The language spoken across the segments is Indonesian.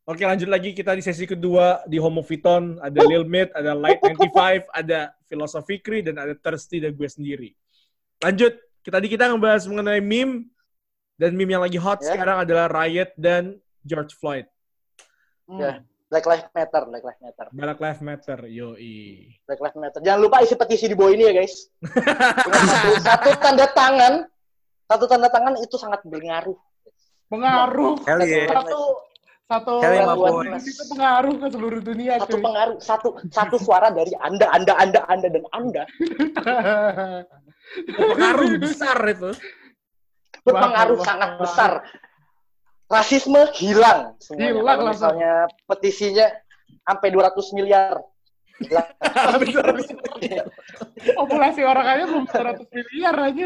Oke, lanjut lagi kita di sesi kedua di Homofiton. Ada Lil Mid, ada Light 95, ada Philosophy Fikri, dan ada Thirsty dan gue sendiri. Lanjut, kita ngebahas mengenai meme. Dan meme yang lagi hot sekarang adalah Riot dan George Floyd. Black Lives Matter. Black Lives Matter, yoi. Black Lives Matter. Jangan lupa isi petisi di bawah ini ya, guys. Satu tanda tangan itu sangat berpengaruh. Pengaruh. Satu itu pengaruh ke seluruh dunia. Satu suara dari Anda dan Anda. Pengaruh besar itu. Berpengaruh sangat besar. Rasisme hilang semuanya. Hilang kalau misalnya petisinya sampai 200 miliar. Populasi orang aja belum 200 miliar anjir.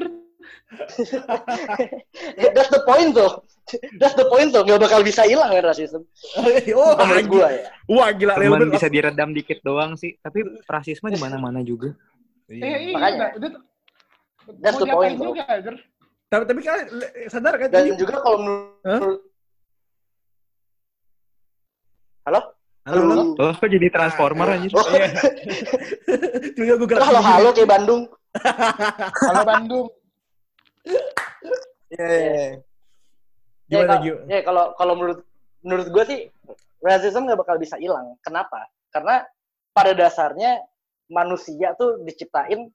That's the point tuh. Nggak bakal bisa hilang kan rasisme. Menurut gua ya. Wah, gila. Cuman bisa diredam dikit doang sih. Tapi rasisme di mana-mana juga. Makanya. That's the point tuh. Tapi kalian sadar kan? Dan juga kalau menurut Halo? Oh, kok jadi transformer anjir? Halo kayak Bandung. Halo Bandung. Ya kalau menurut gue sih racism nggak bakal bisa hilang. Kenapa? Karena pada dasarnya manusia tuh diciptain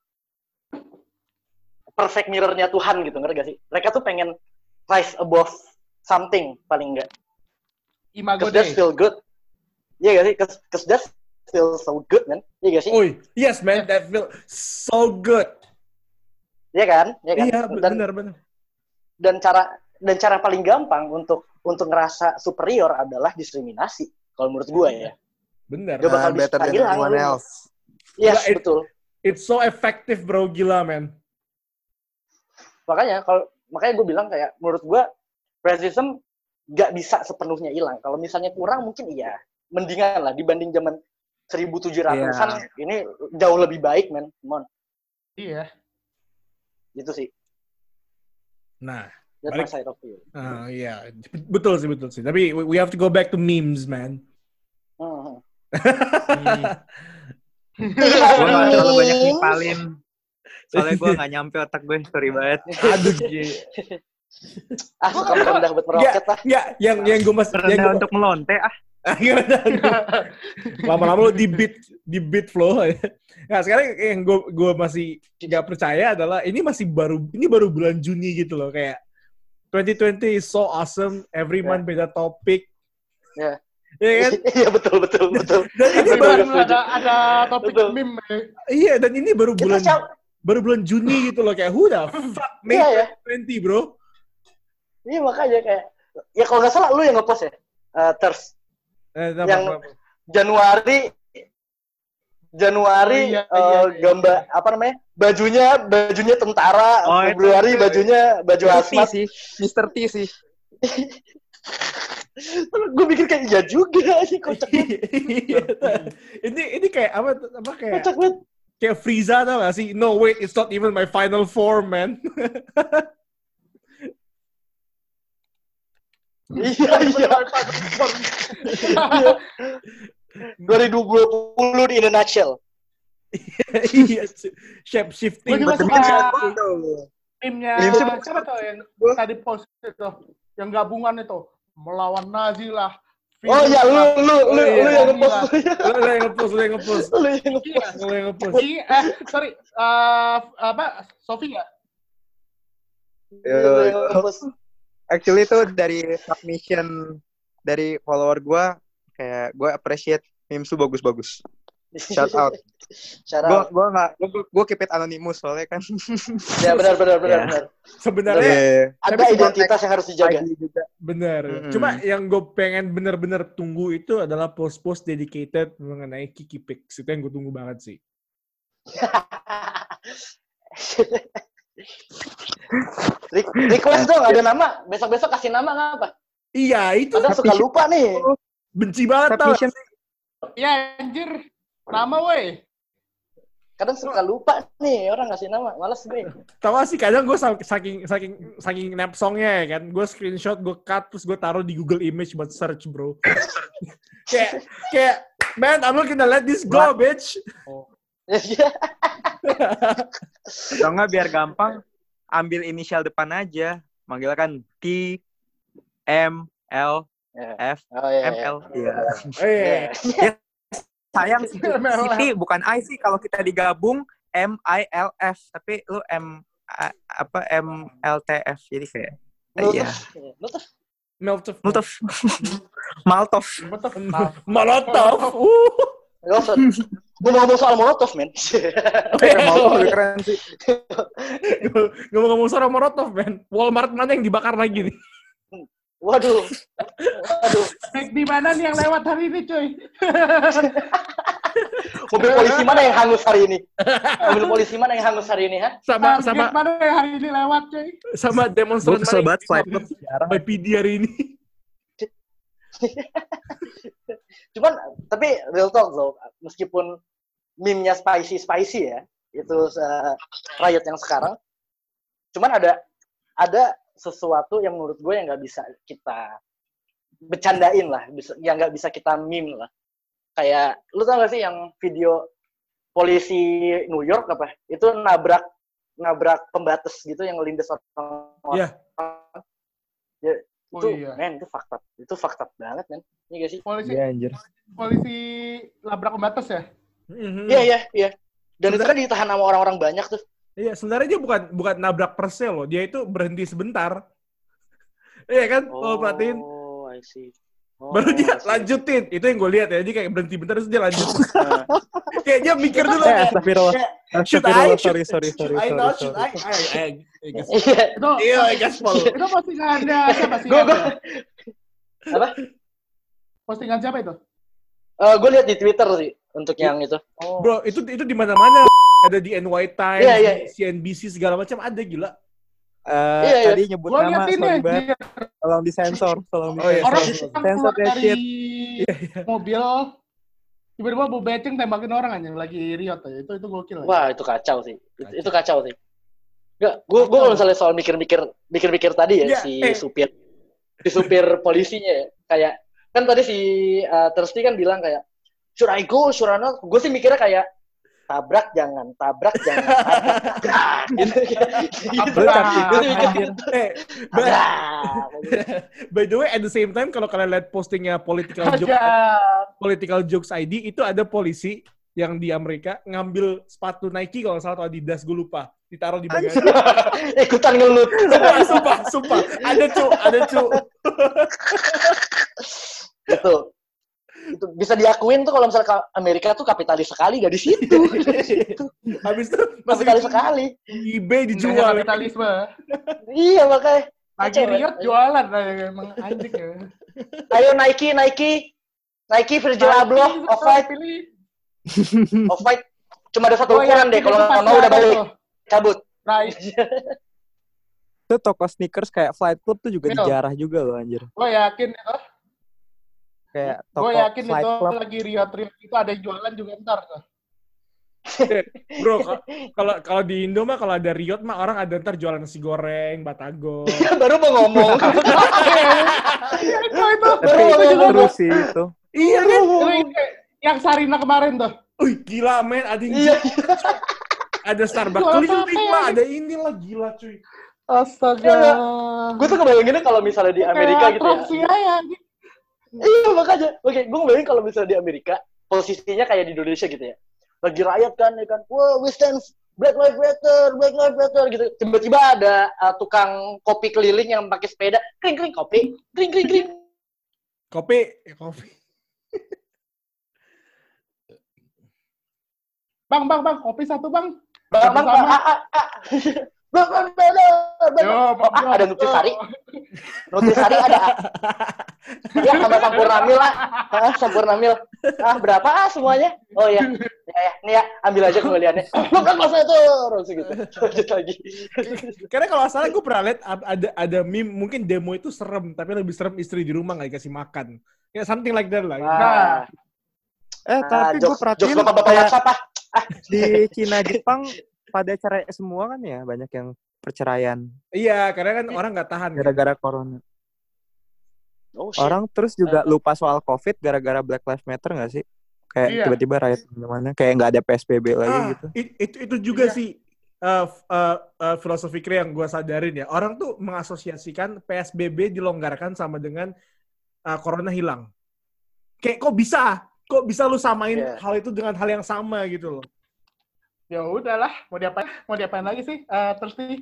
perfect mirror-nya Tuhan gitu, ngerti gak sih? Mereka tuh pengen rise above something paling enggak. Imago Dei. That's still good. Iya gak sih? Cause that feels so good, man. Iya gak sih? Oh, yes, man. That feels so good. Iya kan? Iya, benar. Dan cara paling gampang untuk ngerasa superior adalah diskriminasi. Kalau menurut gue ya. Benar. Gak bakal bisa hilang. Yes, betul. It's so effective, bro. Gila, man. Makanya gue bilang kayak menurut gue racism gak bisa sepenuhnya hilang. Kalau misalnya kurang mungkin iya. Mendingan lah dibanding zaman 1700-an ini jauh lebih baik, man. Come on. Iya. Gitu sih. Nah, that's my side of view. Iya, betul sih. Tapi we have to go back to memes, man. Gue gak terlalu banyak ngipalin. Soalnya gue gak nyampe otak gue, sorry banget. Aduh, suka merendah buat meroket lah. Enggak, yang gue masih merendah untuk melonte lama-lama lo di beat flow. Nah, sekarang yang gue masih nggak percaya adalah ini baru bulan Juni gitu loh, kayak 2020 is so awesome, every month beda topik. Ya. Iya kan? Iya betul. Dan ini baru ada topik meme. Iya, dan ini baru bulan Juni gitu loh, kayak who the fuck made 2020, bro? Iya makanya kayak ya kalau nggak salah lu yang ngepost ya, yang Januari gambar apa namanya, bajunya tentara, Februari baju hazmat sih, Mr. T sih. Gue mikir kayak iya juga sih, kocak ini kayak apa kayak kocak banget. Kayak Frieza, tau gak sih? No wait, it's not even my final form, man. Iya. 2020 in a nutshell. Iya, shape shifting. Timnya siapa tuh yang tadi post itu, yang gabungan itu melawan Nazi lah. Oh ya, lu yang ngepost. Lu yang ngepost. Sorry, Sofi nggak? Actually itu dari submission dari follower gue, kayak gue appreciate memes tuh bagus-bagus. Shout out. Gue keep it anonymous soalnya kan. Ya benar. Sebenarnya ada identitas yang harus dijaga. Benar. Cuma yang gue pengen bener-bener tunggu itu adalah post-post dedicated mengenai Kiki Pix. Itu yang gue tunggu banget sih. Request dong, ada nama. Besok-besok kasih nama ngapa? Iya, itu. Kadang suka lupa nih. Benci banget tau. Ya anjir. Nama weh. kadang suka lupa nih orang ngasih nama, malas gue. Tahu sih kadang gue saking nap songnya ya kan, gue screenshot, gue cut, terus gue taruh di Google Image buat search bro. kayak man, I'm not gonna let this go, bitch. Atau nggak biar gampang, ambil inisial depan aja, manggil kan T M L F M L. Iya. Sayang CP bukan I sih, kalau kita digabung MILF, tapi lu MLTF, jadi kayak iya. Molotov. Ngomong-ngomong soal Molotov, men. Molotov lebih keren sih. Ngomong-ngomong soal Molotov, men. Walmart mana yang dibakar lagi nih? Waduh. Di mana nih yang lewat hari ini, cuy? Mobil polisi mana yang hangus hari ini? Mobil polisi mana yang hangus hari ini, ha? Sama mana yang hari ini lewat, cuy? Sama demonstran Gue kesel banget flight club by PD hari ini. Cuman, tapi real talk though, meskipun meme-nya spicy ya, itu Riot yang sekarang, cuman ada sesuatu yang menurut gue yang nggak bisa kita bercandain lah, yang nggak bisa kita meme lah. Kayak, lu tau gak sih yang video polisi New York apa? Itu nabrak pembatas gitu yang ngelindas orang. Iya. Ya, men, itu fucked up banget, men. Iya gak sih? Polisi labrak pembatas ya? Iya. Dan itu kan ditahan sama orang-orang banyak tuh. Iya, sebenarnya dia bukan nabrak persel loh, dia itu berhenti sebentar. Iya kan? Kalau perhatiin. Oh, I see. Baru dia lanjutin. Itu yang gue lihat ya. Dia kayak berhenti bentar terus dia lanjut. Kayak dia mikir dulu. Should I? Iya, gaspol. Itu postingan siapa sih? Apa? Postingan siapa itu? Gue lihat di Twitter sih untuk yang itu. Bro, itu di mana-mana. Ada di NY Times, di CNBC segala macam ada, gila. Tadi nyebut nama, sorry banget. Tolong disensor. Orang sensor dari mobil, tiba-tiba Bu Beceng tembakin orang aja lagi riot aja. Itu gokil. Wah, itu kacau sih. Itu kacau sih. Enggak, gue kalau misalnya soal mikir-mikir tadi ya, si supir polisinya ya. Kayak kan tadi si Thirsty kan bilang kayak should I go, should I not? Gue sih mikirnya kayak tabrak jangan gitu. By the way, at the same time kalau kalian lihat postingnya political jokes ID, itu ada polisi yang di Amerika ngambil sepatu Nike kalau nggak salah atau Adidas, gue lupa, ditaruh di bagasi. Ikutan ngelut. Sumpah. Ada cu. Itu bisa diakuin tuh kalau misalnya Amerika tuh kapitalis sekali, gak di situ. Habis itu kapitalis sekali. eBay dijual. Kapitalisme. Iya makanya. Lagi riot jualan emang anjing ya. Ayo Nike Virgil Abloh Off-White. Cuma ada satu ukuran deh, kalau nggak mau udah balik. Cabut. Itu toko sneakers kayak Flight Club tuh juga dijarah juga loh anjir. Lo yakin itu? Kayak toko gue yakin Flight itu Club lagi riot itu ada yang jualan juga ntar tuh. Bro, kalau di Indo mah kalau ada riot mah orang ada ntar jualan nasi goreng, batagor. Baru mau ngomong. itu terus sih itu. Iya kan? Yang Sarina kemarin tuh. Wih, gila men, ada yang ada Starbucks keliling lah, ada inilah, gila cuy. Astaga. Gue tuh kebayanginnya kalau misalnya di Amerika gitu ya. Iya makanya, gue ngebayangin kalau misalnya di Amerika posisinya kayak di Indonesia gitu ya, lagi rakyat kan, wah we stand Black Lives Matter gitu, tiba-tiba ada tukang kopi keliling yang pakai sepeda, kring kopi, kring. Kopi. Bang, kopi satu bang. Bang. Ada Nutrisari. Nutrisari ada. Ya, sama Sampurnamil lah. Sampurnamil. Berapa semuanya? Oh ya. Nih ya, ambil aja kembaliannya. Bukan masa itu. Terus gitu. Lanjut lagi. Karena kalau salah gue pernah lihat ada meme, mungkin demo itu serem, tapi lebih serem istri di rumah nggak dikasih makan. Ya something like that lah. Tapi gue perhatiin bapak siapa? Di Cina, Jepang pada cerai semua kan ya, banyak yang perceraian. Iya, karena kan orang nggak tahan. Gara-gara corona. Oh, shit. Orang terus juga lupa soal COVID gara-gara Black Lives Matter nggak sih? Kayak tiba-tiba riot mana kayak nggak ada PSBB lagi gitu. Itu juga sih filosofi yang gue sadarin ya. Orang tuh mengasosiasikan PSBB dilonggarkan sama dengan corona hilang. Kayak kok bisa lu samain hal itu dengan hal yang sama gitu loh. Ya udahlah, mau diapain lagi sih? Terus nih.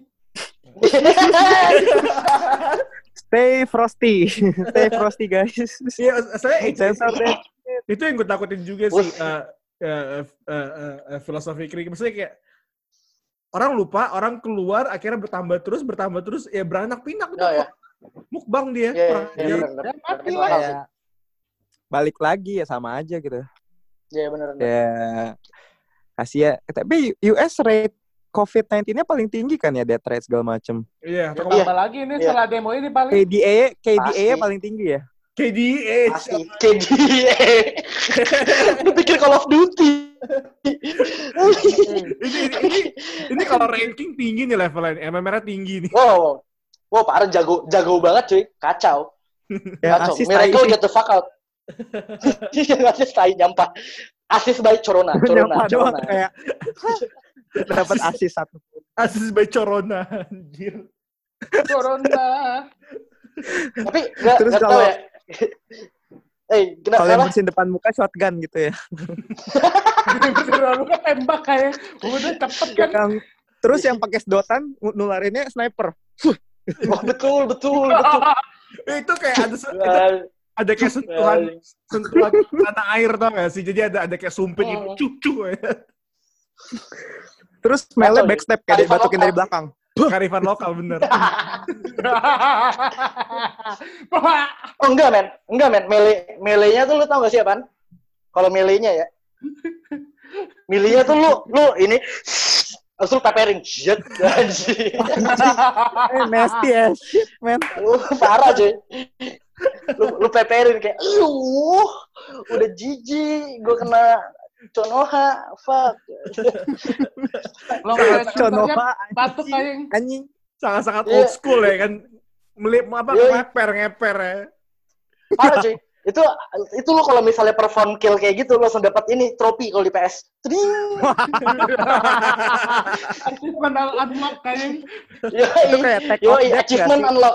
Stay frosty guys. Iya, itu yang gue takutin juga sih filosofi kiri. Maksudnya kayak orang lupa, orang keluar, akhirnya bertambah terus, ya beranak pinak udah kok. Mukbang dia. Mati lah. Balik lagi ya sama aja gitu. Iya benar. Ya kasih ya. Tapi US rate COVID-19-nya paling tinggi kan ya, death rate segala macem. Iya. Tambah lagi ini setelah demo ini paling. KDA paling tinggi ya. KDA. Lu pikir Call of Duty. ini kalau ranking tinggi nih levelnya. MMR-nya tinggi nih. Wow, parah jago banget cuy. Kacau. Miracle get the fuck out. Asis tai nyampah. Asis by Corona. Kayak dapat asis satu. Asis by Corona, anjir. Corona. Tapi enggak tahu ya. Kalau yang bersihin depan muka shotgun gitu ya. Bersihin muka tembak kayak udah cepet kan. Terus yang pakai sedotan nularinnya sniper. Oh, betul. Itu kayak ada kayak sentuhan tanah air tau gak sih? Jadi ada kayak sumpit gitu, cucu ya. Terus mele backstep kayak dibatukin dari belakang. Karifan lokal bener. Oh enggak men. Melenya tuh lu tau gak sih apaan? Kalau melenya ya. Melenya tuh lu ini terus lu peperin. Shit. Nasty as shit, man. Parah cuy. Lu peperin kayak udah jijik gue kena Conoha, fuck. Conoha batuk anjing. Sangat-sangat old school ya kan. Ngeper ya. Parah cuy. Itu lo kalau misalnya perform kill kayak gitu lo langsung dapat ini trofi kalau di PS. Achievement unlock kayak. Itu kayak tag achievement unlock.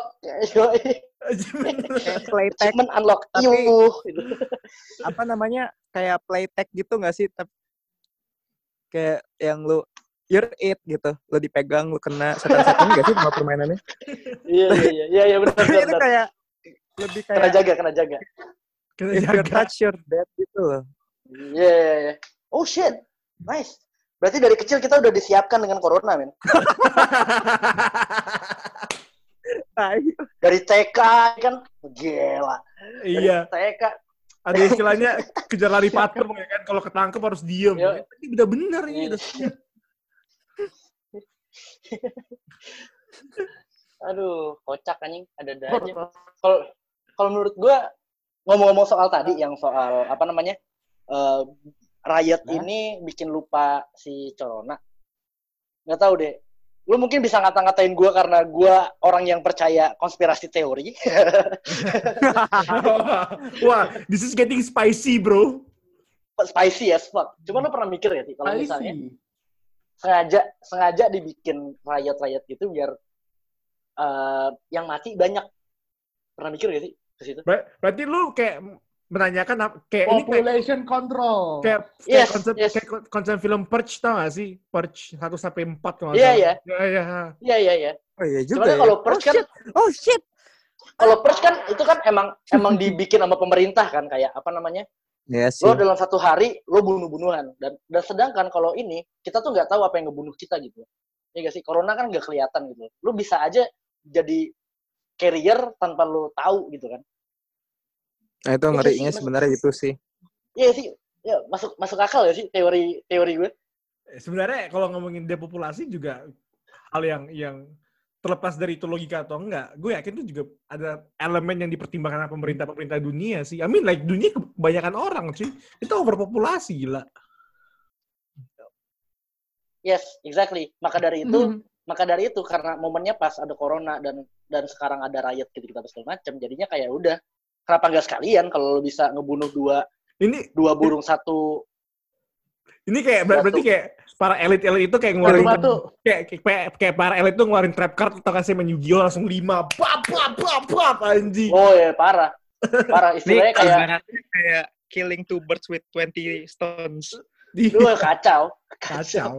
Achievement unlock. Tapi apa namanya kayak playtech gitu nggak sih? Kayak yang lu you're it gitu, lu dipegang, lu kena setan-setan nggak sih sama permainannya? Iya benar. Itu kayak lebih kayak kena jaga. If you touch your dead gitu loh. Iya. Oh shit, nice. Berarti dari kecil kita udah disiapkan dengan corona, men. Dari TK kan, gila. Iya. TK. Ada istilahnya kejar lari patem ya kan, kalau ketangkep harus diem. Ini udah bener ini, udah siap. Aduh, kocak anjing, ada aja. Kalau menurut gue, ngomong-ngomong soal tadi, yang soal apa namanya, riot ini bikin lupa si Corona. Nggak tahu deh. Lu mungkin bisa ngata-ngatain gue karena gue orang yang percaya konspirasi teori. Wah, this is getting spicy, bro. Spicy as fuck. Cuma lu pernah mikir ya sih, kalau misalnya sengaja dibikin riot gitu biar yang mati banyak. Pernah mikir gak sih ke situ? Berarti lu kayak menanyakan kayak population control. Kayak konsep film Purge tau gak sih? Purge 1-4 kalau Iya. Iya. Oh iya juga. Cuman kalau Purge kan shit. Kalau Purge kan itu kan emang dibikin sama pemerintah kan, kayak apa namanya? Yes, lo dalam satu hari lo bunuh-bunuhan dan sedangkan kalau ini kita tuh nggak tahu apa yang ngebunuh kita gitu. Ya gak sih? Corona kan nggak kelihatan gitu. Lo bisa aja jadi carrier tanpa lo tahu gitu kan. Nah itu ngerinya sebenarnya itu sih. Iya sih. Ya masuk akal ya sih teori gue. Sebenarnya kalau ngomongin depopulasi juga hal yang terlepas dari itu logika atau enggak, gue yakin itu juga ada elemen yang dipertimbangkan pemerintah dunia sih. I mean like dunia kebanyakan orang sih. Itu overpopulasi gila. Yes, exactly. Maka dari itu karena momennya pas ada corona dan sekarang ada riot gitu segala macam, jadinya kayak udah kenapa nggak sekalian kalau lo bisa ngebunuh dua burung satu. Ini kayak berarti kayak para elit itu kayak ngeluarin kayak para elit tuh ngeluarin trap card atau kasih main Yu-Gi-Oh langsung 5 bap anjing. Oh ya parah istilahnya kayak killing 2 birds with 20 stones. Kacau. Kacau.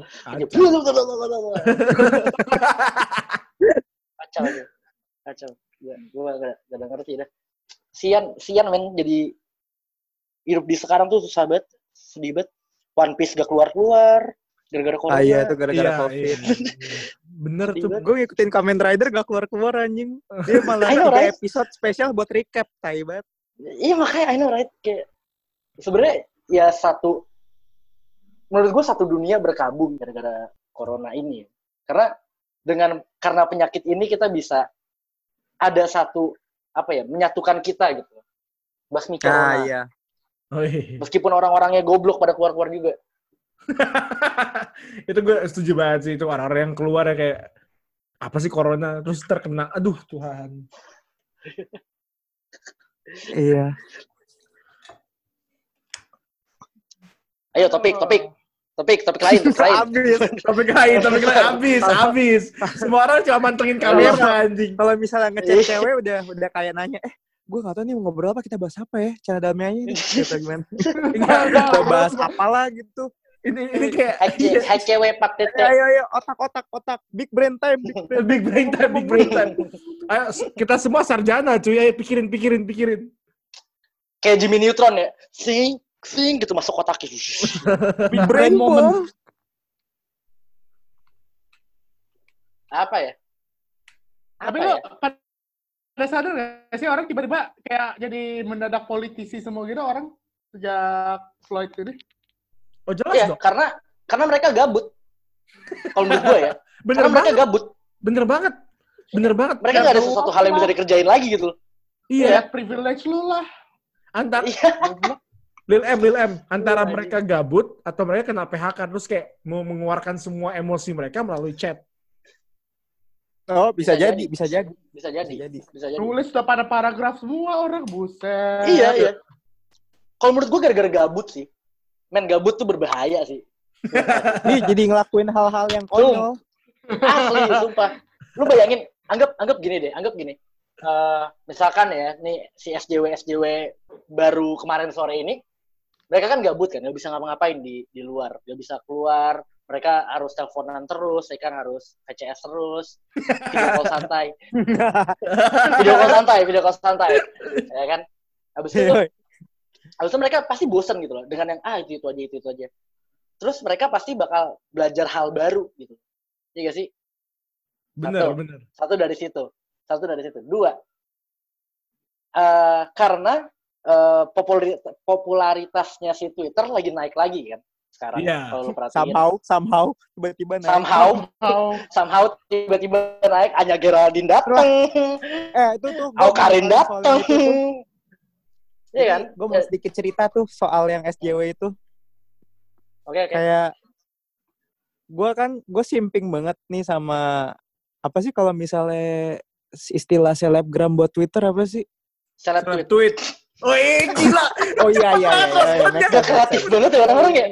Gue gak ngerti dah. Sian men, jadi hidup di sekarang tuh susah banget, sedih banget. One Piece gak keluar gara-gara corona. Iya, itu gara-gara COVID. Bener tuh. Gue ngikutin Kamen Rider gak keluar anjing. Dia malah 3 episode spesial buat recap, tai banget. Iya makanya I know right, kayak sebenarnya ya menurut gue satu dunia berkabung gara-gara corona ini. Karena penyakit ini kita bisa ada satu menyatukan kita gitu. Basmi corona. Iya. Meskipun orang-orangnya goblok pada keluar-keluar juga. Itu gue setuju banget sih, itu orang-orang yang keluar ya kayak apa sih corona terus terkena, aduh Tuhan. Iya. Ayo topik lain. Topik lain habis. Semua orang cuma mantengin kamera anjing. Kalau misalnya ngechat cewek udah kayak nanya, gue nggak tahu nih mau ngobrol apa, kita bahas apa ya, cara damainya ini gitu gimana? Kita bahas apalah gitu. Ini kayak hai cewek pak tete. Ayo otak big brain time. Ayo kita semua sarjana cuy, ayo pikirin. Kayak Jimmy Neutron ya, sing gitu masuk otak. Big brain moment. Apa ya? Tapi lo pada sadar nggak sih orang tiba-tiba kayak jadi mendadak politisi semua gitu orang sejak Floyd ini? Oh jelas dong. Karena mereka gabut. Kalau menurut gue ya. Mereka gabut. Bener banget. Mereka nggak ada sesuatu hal yang bisa dikerjain lagi gitu. Iya. Privilege lu lah. Lil M. Antara mereka gabut atau mereka kena PHK terus kayak mau mengeluarkan semua emosi mereka melalui chat. Oh, bisa jadi. Nulis udah pada paragraf semua orang, buset. Iya. Kalau menurut gue gara-gara gabut sih. Men, gabut tuh berbahaya sih. Nih, jadi ngelakuin hal-hal yang konyol. Asli, sumpah. Lu bayangin, anggap gini. Misalkan ya, nih si SJW baru kemarin sore ini, mereka kan gabut kan, nggak bisa ngapa-ngapain di luar. Nggak bisa keluar. Mereka harus teleponan terus, mereka harus VCS terus, video call santai, ya kan? Habis itu mereka pasti bosan gitu loh, dengan yang itu aja. Terus mereka pasti bakal belajar hal baru gitu, iya gak sih? Bener. Satu dari situ. 2, karena popularitasnya si Twitter lagi naik lagi kan. Sekarang kalau lu perhatiin somehow tiba-tiba naik. Somehow tiba-tiba naik. Anya Geraldine datang. Itu tuh Karin datang. Iya kan? Gue mau sedikit cerita tuh soal yang SJW itu. Oke. Kayak gue simping banget nih sama apa sih kalau misalnya istilah selebgram buat Twitter apa sih? Seleb tweet. Oh gila. Oh iya. Gak kreatif banget ya orang-orang ya.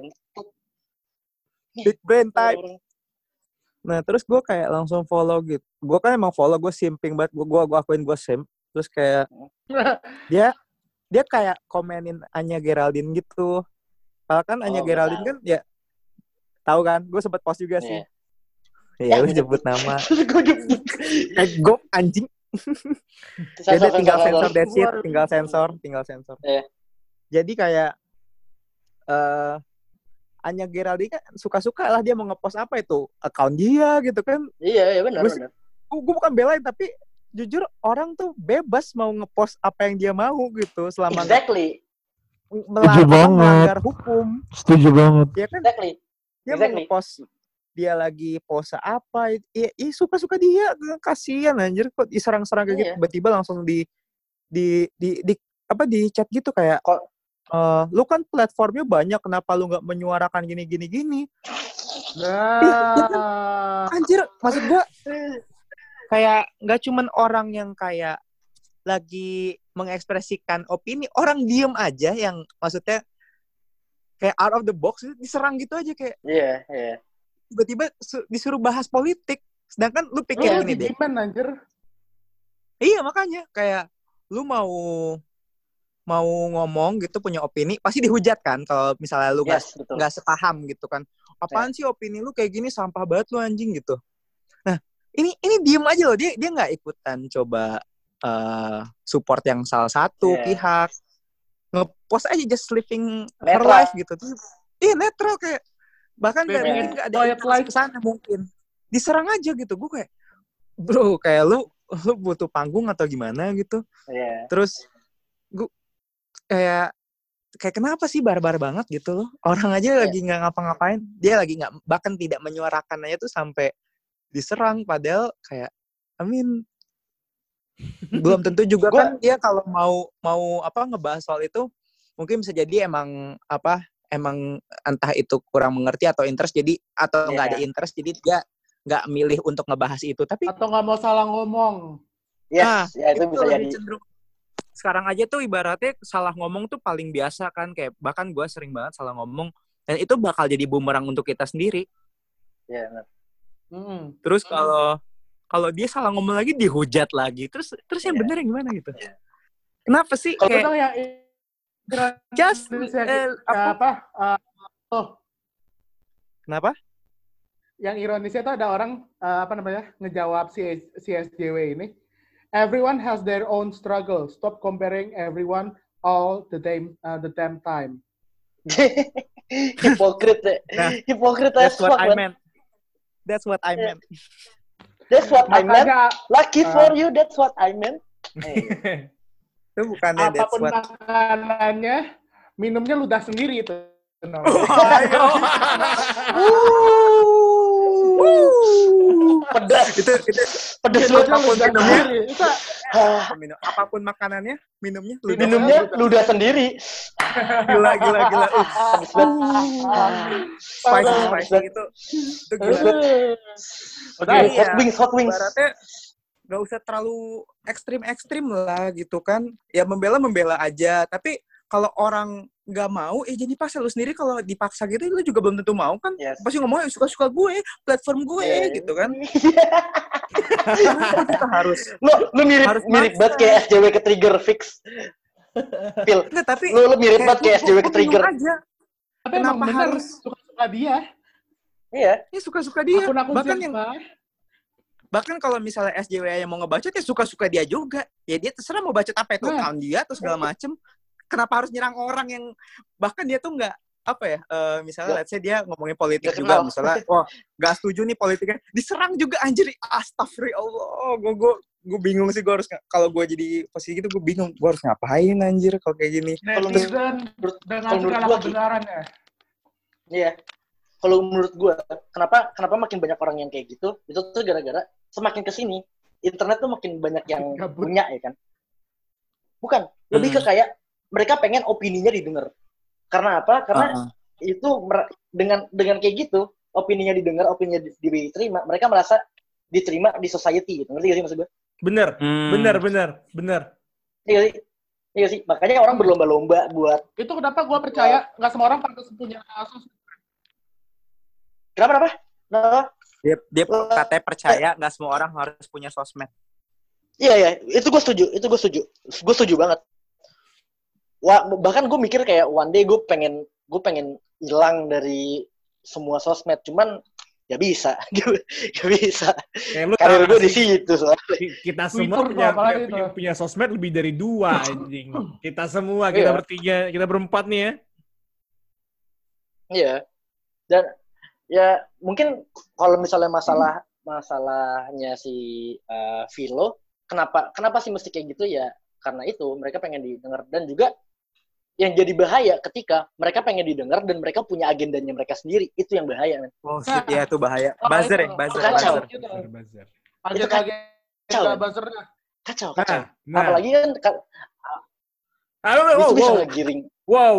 Big brain type. Nah terus gue kayak langsung follow gitu. Gue kan emang follow, gue simping banget. Gue akuin gue simp. Terus kayak dia kayak komenin Anya Geraldine gitu. Kalau kan Anya Geraldine kan ya tahu kan. Gue sempet post juga sih. Ya lu sebut nama. Gue anjing. Jadi tinggal sensor that's it, tinggal sensor. Yeah. Jadi kayak Anya Geraldine kan suka-suka lah dia mau ngepost apa itu account dia gitu kan. Iya benar. Gue bukan belain tapi jujur orang tuh bebas mau ngepost apa yang dia mau gitu selama melanggar hukum. Setuju banget. Ya kan? Dia mau ngepost dia lagi pose apa, suka-suka dia, kasihan anjir kok diserang-serang kayak gitu, tiba-tiba langsung di chat gitu kayak lu kan platformnya banyak, kenapa lu nggak menyuarakan gini. Nah. Anjir, maksud gue kayak nggak cuman orang yang kayak lagi mengekspresikan opini, orang diem aja yang maksudnya kayak out of the box diserang gitu aja kayak. Iya, iya. Tiba-tiba disuruh bahas politik, sedangkan lu pikir gini deh. Anjir. Iya makanya kayak lu mau ngomong gitu punya opini pasti dihujat kan kalau misalnya lu nggak sepaham gitu kan. Apaan sih opini lu kayak gini, sampah banget lu anjing gitu. Nah, ini diem aja loh, dia nggak ikutan coba support yang salah satu pihak. Ngepost aja just living her life gitu. Iya, netral kayak bahkan kayak mungkin nggak ada interest ke sana mungkin. Diserang aja gitu. Gue kayak bro, kayak lu butuh panggung atau gimana gitu. Terus gue kayak kenapa sih barbar banget gitu loh. Orang aja lagi nggak ngapa-ngapain, dia lagi nggak, bahkan tidak menyuarakan aja tuh sampai diserang. Padahal kayak belum tentu juga kan dia kalau mau ngebahas soal itu mungkin bisa jadi emang entah itu kurang mengerti atau interest jadi atau nggak ada interest jadi dia nggak milih untuk ngebahas itu, tapi atau nggak mau salah ngomong. Itu bisa jadi. Cenderung. Sekarang aja tuh ibaratnya salah ngomong tuh paling biasa kan, kayak bahkan gue sering banget salah ngomong dan itu bakal jadi bumerang untuk kita sendiri. Iya, benar. Terus kalau dia salah ngomong lagi dihujat lagi, terus yang benar yang gimana gitu? Kenapa sih kayak yang just kenapa? Yang ironisnya itu ada orang ngejawab si SJW ini. Everyone has their own struggle. Stop comparing everyone all the damn time. Hypocrite. Hypocrite as fuck. That's what I meant. That's what I meant. Lucky for you, that's what I meant. Itu bukannya that's what. Apapun makanannya, minumnya ludah sendiri itu. Pedas. Itu pedas apapun minumnya. Apapun makanannya, minumnya ludah sendiri. Gila. Spicy itu gila. Hot wings. Baratnya nggak usah terlalu ekstrim lah gitu kan. Ya membela aja. Tapi kalau orang nggak mau, jadi paksa. Lu sendiri kalau dipaksa gitu, lu juga belum tentu mau kan. Pasti ngomongnya suka-suka gue, platform gue gitu kan. Kita harus. Lu mirip banget kayak SJW ke trigger fix. Phil, tapi lu mirip banget kayak SJW ke trigger. Tapi kenapa harus suka-suka dia? Iya. Ya suka-suka dia. Akun bahkan kalau misalnya SJW yang mau ngebacot ya suka-suka dia juga. Ya dia terserah mau bacot apa itu account dia atau segala macem. Kenapa harus nyerang orang yang bahkan dia tuh nggak misalnya let's say dia ngomongin politik juga misalnya, nggak setuju nih politiknya, diserang juga anjir. Astagfirullah, gue bingung sih, gue harus kalau gue jadi posisi gitu gue bingung gue harus ngapain anjir kalau kayak gini. Netizen dengan segala kebenarannya. Iya. Kalau menurut gue, kenapa makin banyak orang yang kayak gitu? Itu tuh gara-gara semakin kesini internet tuh makin banyak yang punya ya kan. Bukan, lebih ke kayak mereka pengen opininya didengar. Karena apa? Karena itu dengan kayak gitu, opininya didengar, opininya diterima, mereka merasa diterima di society gitu. Ngerti gak sih maksud gue? Bener. Iya sih. Makanya orang berlomba-lomba buat. Itu kenapa gue percaya nggak semua orang pantas punya sosmed. Kenapa? Dia katanya percaya nggak semua orang harus punya sosmed. Iya. Itu gue setuju. Gue setuju banget. Bahkan gue mikir kayak one day gue pengen hilang dari semua sosmed, cuman gak bisa. Karir gue di situ soalnya. Kita semua punya sosmed lebih dari 2 anjing. Kita semua, bertiga, kita berempat nih ya. Iya. Dan ya mungkin kalau misalnya masalahnya si Philo, kenapa sih mesti kayak gitu ya? Karena itu mereka pengen didengar, dan juga yang jadi bahaya ketika mereka pengen didengar dan mereka punya agendanya mereka sendiri, itu yang bahaya, men. Oh shit, ya itu bahaya. Buzzer. Kacau. Kacau. Apalagi kan itu bisa ngegiring Wow.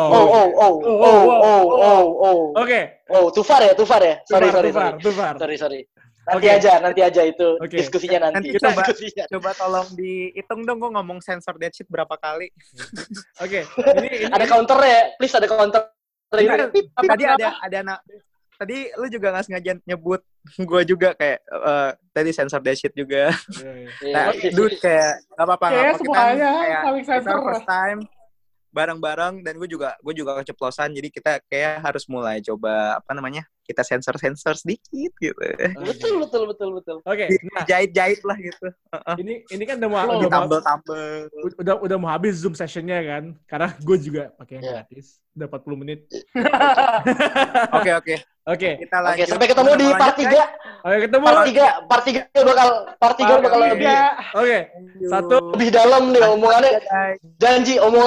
Oke. Too far ya. Sorry. Sorry. Nanti aja itu diskusinya nanti. Kita coba tolong dihitung dong, gue ngomong sensor that shit berapa kali. Oke. Ini ada counter ya, please ada counter. Tadi ada anak. Tadi lu juga nggak sengaja nyebut gue juga kayak tadi sensor that shit juga. Nah, dude kayak nggak apa-apa. Kita first time bareng-bareng dan gue juga keceplosan, jadi kita kayak harus mulai coba kita sensor sedikit gitu. Betul. Oke. Nah, jahit lah gitu. Ini kan udah mau habis Zoom sessionnya kan, karena gue juga pakai yang gratis, udah 40 menit. Oke. Kita lanjut. Sampai ketemu di part 3. Oke, ketemu. Part 3 bakal lebih. Oke. 1 lebih dalam nih omongannya. Janji omongan